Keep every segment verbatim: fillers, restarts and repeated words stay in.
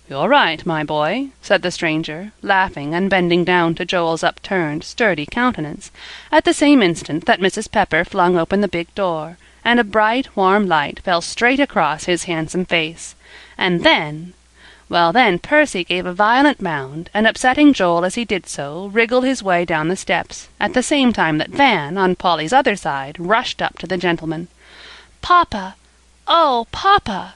"You're right, my boy," said the stranger, laughing and bending down to Joel's upturned, sturdy countenance, at the same instant that Missus Pepper flung open the big door, and a bright, warm light fell straight across his handsome face. And then— Well, then Percy gave a violent bound, and upsetting Joel as he did so, wriggled his way down the steps, at the same time that Van, on Polly's other side, rushed up to the gentleman. "Papa! Oh, papa!"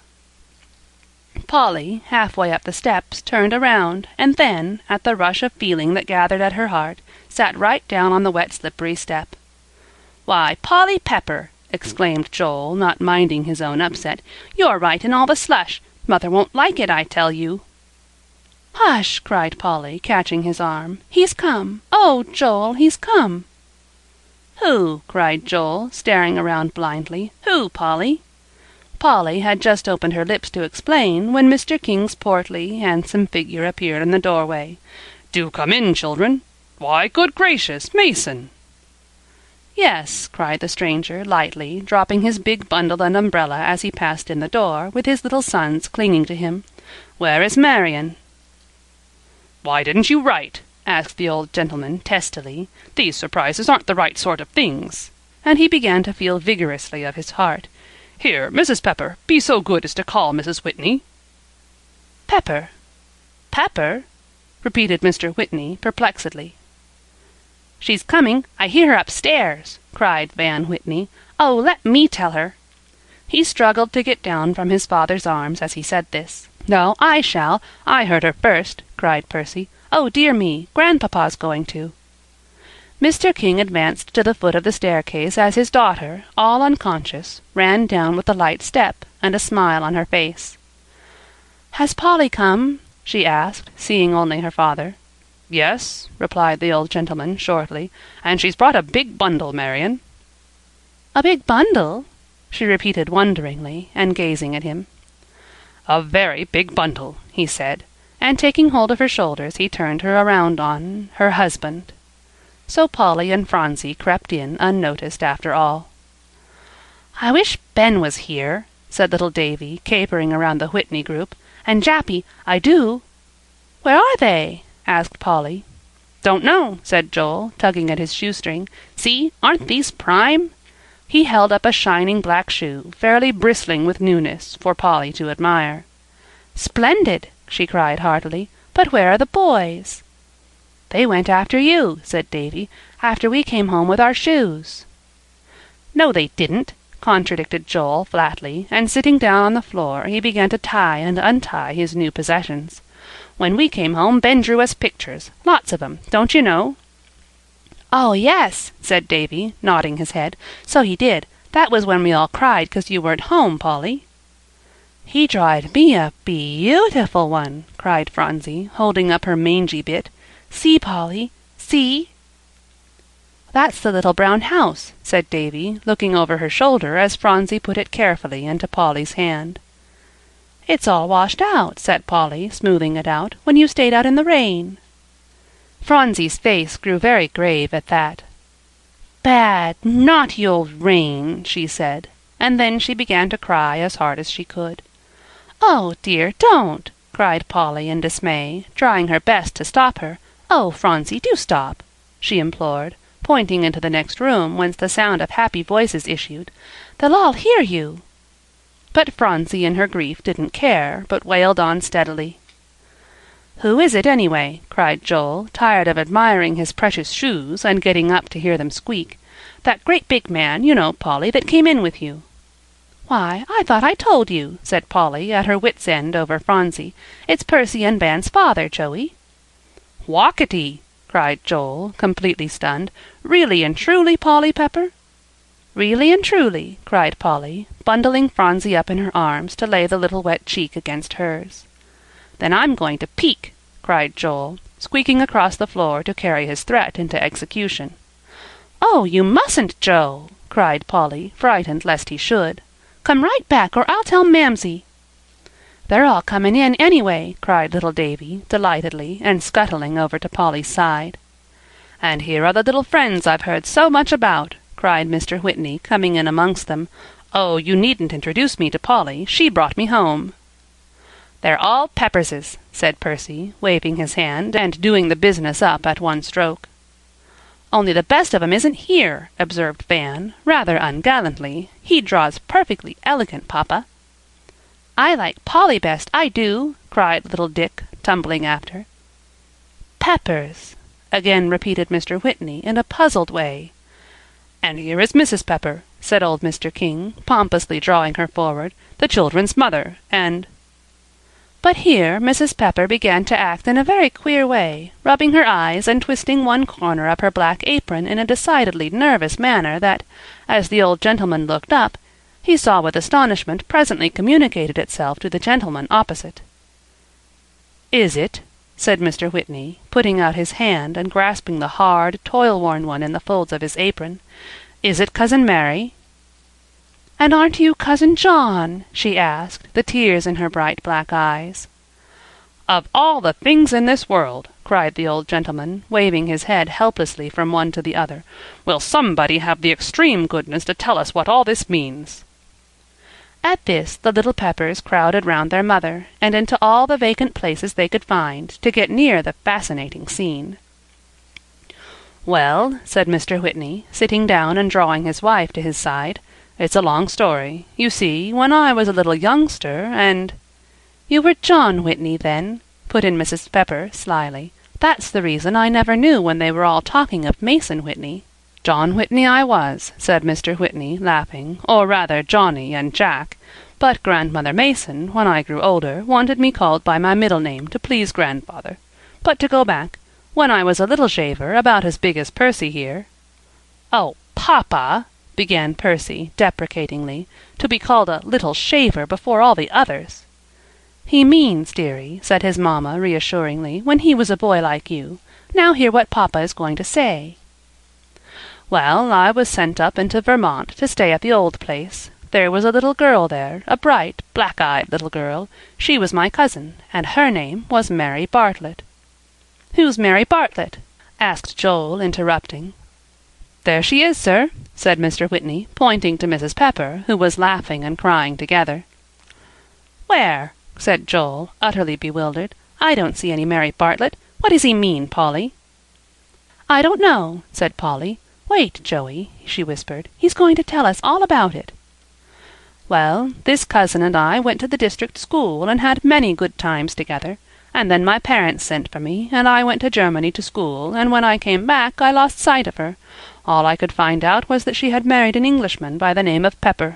Polly, halfway up the steps, turned around, and then, at the rush of feeling that gathered at her heart, sat right down on the wet slippery step. "Why, Polly Pepper!" exclaimed Joel, not minding his own upset, "you're right in all the slush. Mother won't like it, I tell you." "Hush!" cried Polly, catching his arm. "He's come! Oh, Joel, he's come!" "Who?" cried Joel, staring around blindly. "Who, Polly?" Polly had just opened her lips to explain, when Mister King's portly, handsome figure appeared in the doorway. "Do come in, children. Why, good gracious, Mason!" "Yes," cried the stranger, lightly, dropping his big bundle and umbrella as he passed in the door, with his little sons clinging to him. "Where is Marian?" "Why didn't you write?" asked the old gentleman, testily. "These surprises aren't the right sort of things." And he began to feel vigorously of his heart. "Here, Missus Pepper, be so good as to call Missus Whitney." "Pepper? Pepper?" repeated Mister Whitney, perplexedly. "She's coming. I hear her upstairs," cried Van Whitney. "Oh, let me tell her." He struggled to get down from his father's arms as he said this. "No, I shall. I heard her first," cried Percy. "Oh, dear me, Grandpapa's going to." Mister King advanced to the foot of the staircase as his daughter, all unconscious, ran down with a light step and a smile on her face. "Has Polly come?" she asked, seeing only her father. "Yes," replied the old gentleman, shortly, "and she's brought a big bundle, Marian." "A big bundle?" she repeated wonderingly, and gazing at him. "A very big bundle," he said, and taking hold of her shoulders he turned her around on her husband. So Polly and Phronsie crept in unnoticed after all. "I wish Ben was here," said little Davy, capering around the Whitney group, "and Jappy, I do." "Where are they?" asked Polly. "Don't know," said Joel, tugging at his shoestring. "See, aren't these prime?" He held up a shining black shoe, fairly bristling with newness, for Polly to admire. "Splendid!" she cried heartily. "But where are the boys?" "They went after you," said Davy, "after we came home with our shoes." "No, they didn't," contradicted Joel flatly, and sitting down on the floor he began to tie and untie his new possessions. "When we came home Ben drew us pictures, lots of 'em, don't you know?" "Oh, yes," said Davy, nodding his head. "So he did. That was when we all cried 'cause you weren't home, Polly." "He drawed me a beautiful one," cried Phronsie, holding up her mangy bit. "See, Polly, see." "That's the little brown house," said Davy, looking over her shoulder as Phronsie put it carefully into Polly's hand. "It's all washed out," said Polly, smoothing it out, "when you stayed out in the rain." Phronsie's face grew very grave at that. "Bad, naughty old rain," she said, and then she began to cry as hard as she could. "Oh, dear, don't!" cried Polly in dismay, trying her best to stop her. "Oh, Phronsie, do stop," she implored, pointing into the next room, whence the sound of happy voices issued. "They'll all hear you." But Phronsie in her grief didn't care, but wailed on steadily. "Who is it, anyway?" cried Joel, tired of admiring his precious shoes and getting up to hear them squeak. "That great big man, you know, Polly, that came in with you." "Why, I thought I told you," said Polly, at her wits' end over Phronsie. "It's Percy and Van's father, Joey." "Walkity!" cried Joel, completely stunned. "Really and truly, Polly Pepper?" "Really and truly," cried Polly, bundling Phronsie up in her arms to lay the little wet cheek against hers. "Then I'm going to peek," cried Joel, squeaking across the floor to carry his threat into execution. "Oh, you mustn't, Joe!" cried Polly, frightened lest he should. "Come right back, or I'll tell Mamsie." "They're all comin' in, anyway," cried little Davy, delightedly, and scuttling over to Polly's side. "And here are the little friends I've heard so much about," cried Mister Whitney, coming in amongst them. "Oh, you needn't introduce me to Polly. She brought me home." "They're all Pepperses," said Percy, waving his hand and doing the business up at one stroke. "Only the best of 'em isn't here," observed Van, rather ungallantly. "He draws perfectly elegant, papa." "I like Polly best, I do," cried little Dick, tumbling after. "Peppers," again repeated Mister Whitney in a puzzled way. "And here is Missus Pepper," said old Mister King, pompously drawing her forward, "the children's mother, and—" But here Missus Pepper began to act in a very queer way, rubbing her eyes and twisting one corner of her black apron in a decidedly nervous manner that, as the old gentleman looked up, he saw with astonishment presently communicated itself to the gentleman opposite. "Is it?" said Mister Whitney, putting out his hand and grasping the hard, toil-worn one in the folds of his apron. "Is it Cousin Mary?" "And aren't you Cousin John?" she asked, the tears in her bright black eyes. "Of all the things in this world!" cried the old gentleman, waving his head helplessly from one to the other. "Will somebody have the extreme goodness to tell us what all this means?" At this the little Peppers crowded round their mother, and into all the vacant places they could find, to get near the fascinating scene. "Well," said Mister Whitney, sitting down and drawing his wife to his side, "it's a long story. You see, when I was a little youngster, and—" "You were John Whitney, then," put in Missus Pepper, slyly. "That's the reason I never knew when they were all talking of Mason Whitney." "John Whitney I was," said Mister Whitney, laughing, "or rather Johnny and Jack, but Grandmother Mason, when I grew older, wanted me called by my middle name to please grandfather. But to go back, when I was a little shaver, about as big as Percy here—" "Oh, papa!" began Percy, deprecatingly, "to be called a little shaver before all the others." "He means, dearie," said his mamma reassuringly, "when he was a boy like you. Now hear what papa is going to say." "Well, I was sent up into Vermont to stay at the old place. There was a little girl there, a bright, black-eyed little girl. She was my cousin, and her name was Mary Bartlett." "Who's Mary Bartlett?" asked Joel, interrupting. "There she is, sir," said Mister Whitney, pointing to Missus Pepper, who was laughing and crying together. "Where?" said Joel, utterly bewildered. "I don't see any Mary Bartlett. What does he mean, Polly?" "I don't know," said Polly. "Wait, Joey," she whispered. "He's going to tell us all about it." "Well, this cousin and I went to the district school and had many good times together, and then my parents sent for me, and I went to Germany to school, and when I came back I lost sight of her. All I could find out was that she had married an Englishman by the name of Pepper."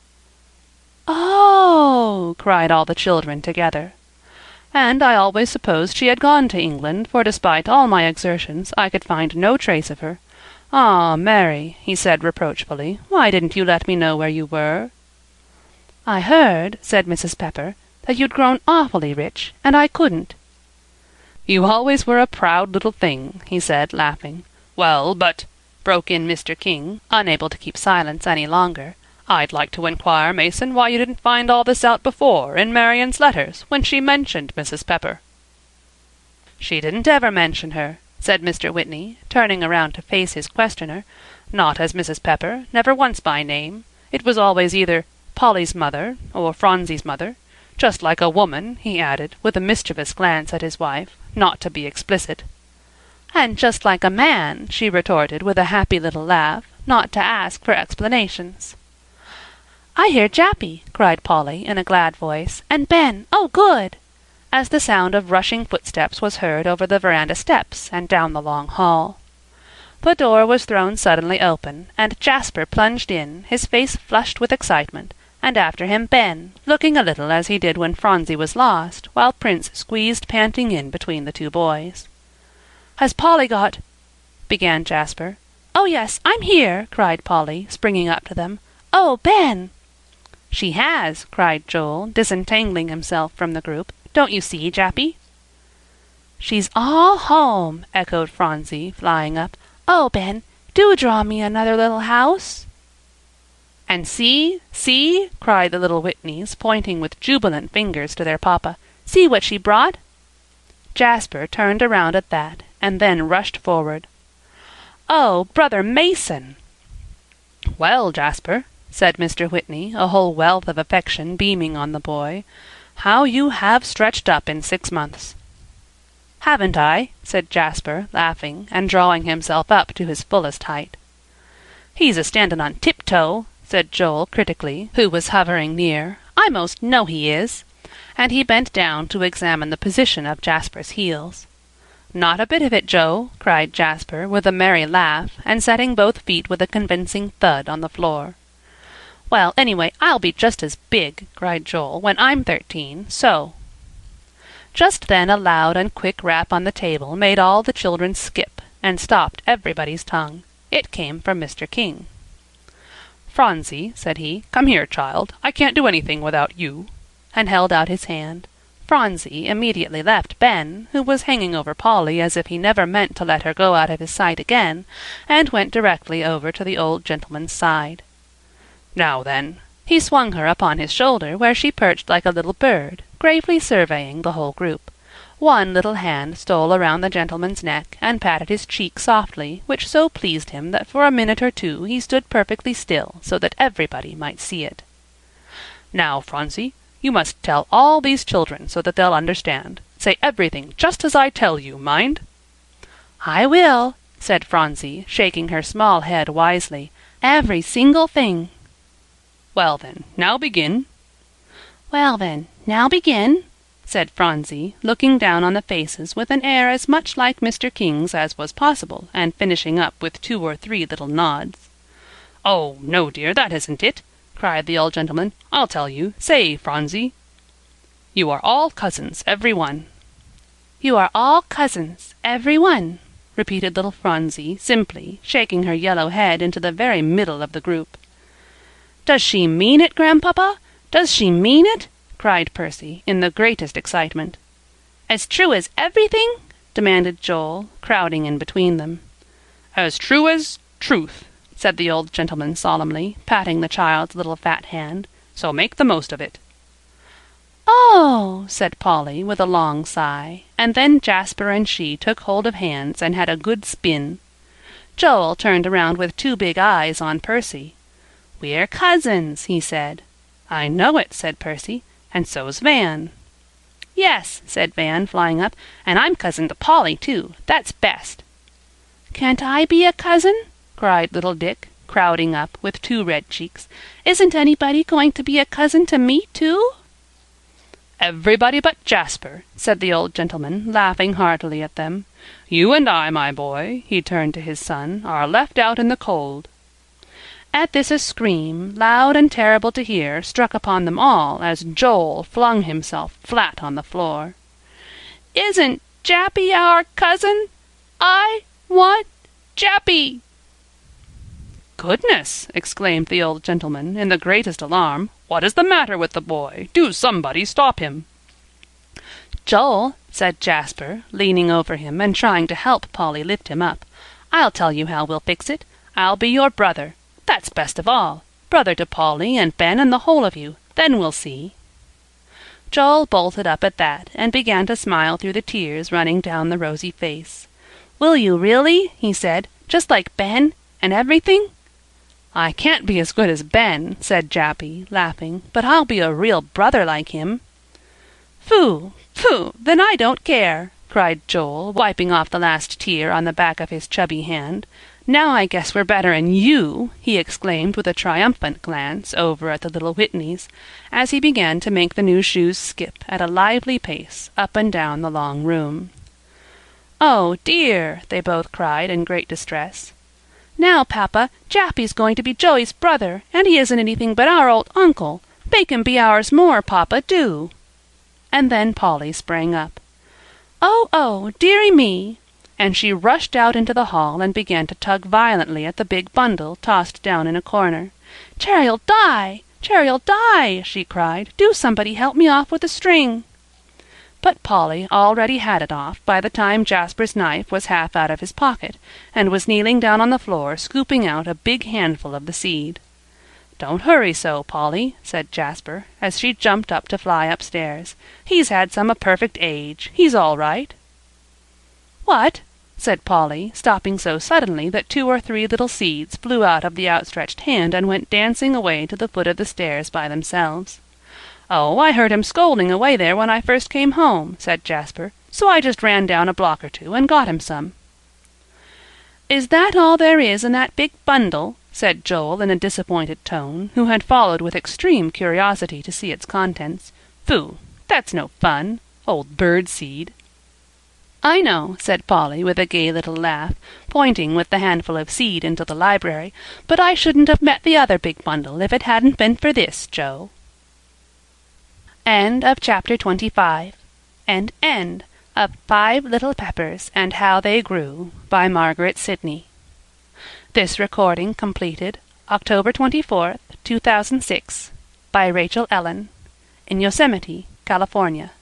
"Oh!" cried all the children together. "And I always supposed she had gone to England, for despite all my exertions I could find no trace of her. Ah, Mary," he said reproachfully, "why didn't you let me know where you were?" "I heard," said Missus Pepper, "that you'd grown awfully rich, and I couldn't." "You always were a proud little thing," he said, laughing. "Well, but," broke in Mister King, unable to keep silence any longer, "I'd like to inquire, Mason, why you didn't find all this out before, in Marian's letters, when she mentioned Missus Pepper." "She didn't ever mention her," said Mister Whitney, turning around to face his questioner. "Not as Missus Pepper, never once by name. It was always either Polly's mother or Phronsie's mother. Just like a woman," he added, with a mischievous glance at his wife, "not to be explicit." "And just like a man," she retorted with a happy little laugh, "not to ask for explanations." "I hear Jappy," cried Polly in a glad voice, "and Ben, oh good!" as the sound of rushing footsteps was heard over the veranda steps and down the long hall. The door was thrown suddenly open, and Jasper plunged in, his face flushed with excitement, and after him Ben, looking a little as he did when Phronsie was lost, while Prince squeezed panting in between the two boys. "Has Polly got—" began Jasper. "Oh, yes, I'm here," cried Polly, springing up to them. "Oh, Ben!" "She has," cried Joel, disentangling himself from the group. "Don't you see, Jappy?" "She's all home," echoed Phronsie, flying up. "Oh, Ben, do draw me another little house." "And see, see," cried the little Whitneys, pointing with jubilant fingers to their papa. "See what she brought." Jasper turned around at that, and then rushed forward. "Oh, Brother Mason!" "Well, Jasper," said Mister Whitney, a whole wealth of affection beaming on the boy, How you have stretched up in six months!" "Haven't I?" said Jasper, laughing, and drawing himself up to his fullest height. "He's a-standin' on tiptoe," said Joel critically, who was hovering near. "I most know he is." And he bent down to examine the position of Jasper's heels. "Not a bit of it, Joe," cried Jasper, with a merry laugh, and setting both feet with a convincing thud on the floor. "Well, anyway, I'll be just as big," cried Joel, "when I'm thirteen, so." Just then a loud and quick rap on the table made all the children skip, and stopped everybody's tongue. It came from Mister King. "Phronsie," said he, "come here, child. I can't do anything without you," and held out his hand. Phronsie immediately left Ben, who was hanging over Polly as if he never meant to let her go out of his sight again, and went directly over to the old gentleman's side. "Now then." He swung her upon his shoulder, where she perched like a little bird, gravely surveying the whole group. One little hand stole around the gentleman's neck and patted his cheek softly, which so pleased him that for a minute or two he stood perfectly still, so that everybody might see it. "Now, Phronsie, you must tell all these children so that they'll understand. Say everything just as I tell you, mind." "I will," said Phronsie, shaking her small head wisely. "Every single thing." "Well then, now begin." "Well then, now begin," said Phronsie, looking down on the faces with an air as much like Mister King's as was possible, and finishing up with two or three little nods. "Oh, no, dear, that isn't it," cried the old gentleman. "I'll tell you. Say, Phronsie." "You are all cousins, every one." "You are all cousins, every one," repeated little Phronsie, simply, shaking her yellow head into the very middle of the group. "Does she mean it, Grandpapa? Does she mean it?" cried Percy, in the greatest excitement. "As true as everything?" demanded Joel, crowding in between them. "As true as truth," said the old gentleman solemnly, patting the child's little fat hand. "So make the most of it." "Oh!" said Polly, with a long sigh, and then Jasper and she took hold of hands and had a good spin. Joel turned around with two big eyes on Percy. "We're cousins," he said. "I know it," said Percy, "and so's Van." "Yes," said Van, flying up, "and I'm cousin to Polly, too. That's best." "Can't I be a cousin?" cried little Dick, crowding up, with two red cheeks. "Isn't anybody going to be a cousin to me, too?" "Everybody but Jasper," said the old gentleman, laughing heartily at them. "You and I, my boy," he turned to his son, "are left out in the cold." At this a scream, loud and terrible to hear, struck upon them all as Joel flung himself flat on the floor. "Isn't Jappy our cousin? I want Jappy!" "Goodness!" exclaimed the old gentleman, in the greatest alarm. "What is the matter with the boy? Do somebody stop him!" "Joel," said Jasper, leaning over him and trying to help Polly lift him up, "I'll tell you how we'll fix it. I'll be your brother. That's best of all. Brother to Polly and Ben and the whole of you. Then we'll see." Joel bolted up at that, and began to smile through the tears running down the rosy face. "Will you really?" he said. "Just like Ben, and everything?" "I can't be as good as Ben," said Jappy, laughing, "but I'll be a real brother like him." "Phoo! Phoo! Then I don't care," cried Joel, wiping off the last tear on the back of his chubby hand. "Now I guess we're better'n you," he exclaimed with a triumphant glance over at the little Whitneys, as he began to make the new shoes skip at a lively pace up and down the long room. "Oh, dear!" they both cried in great distress. "Now, Papa, Jappy's going to be Joey's brother, and he isn't anything but our old uncle. Make him be ours more, Papa, do." And then Polly sprang up. "Oh, oh, dearie me!" and she rushed out into the hall and began to tug violently at the big bundle tossed down in a corner. "Cherry'll die! Cherry'll die!" she cried. "Do somebody help me off with a string!" But Polly already had it off by the time Jasper's knife was half out of his pocket, and was kneeling down on the floor scooping out a big handful of the seed. "Don't hurry so, Polly," said Jasper, as she jumped up to fly upstairs. "He's had some a perfect age. He's all right." "What?" said Polly, stopping so suddenly that two or three little seeds flew out of the outstretched hand and went dancing away to the foot of the stairs by themselves. "Oh, I heard him scolding away there when I first came home," said Jasper, "so I just ran down a block or two and got him some." "Is that all there is in that big bundle?" said Joel in a disappointed tone, who had followed with extreme curiosity to see its contents. "Phoo! That's no fun. Old bird seed!" "I know," said Polly, with a gay little laugh, pointing with the handful of seed into the library, "but I shouldn't have met the other big bundle if it hadn't been for this, Joe." End of chapter twenty-five. And end of Five Little Peppers and How They Grew, by Margaret Sidney. This recording completed October twenty-fourth, two thousand six, by Rachel Ellen, in Yosemite, California.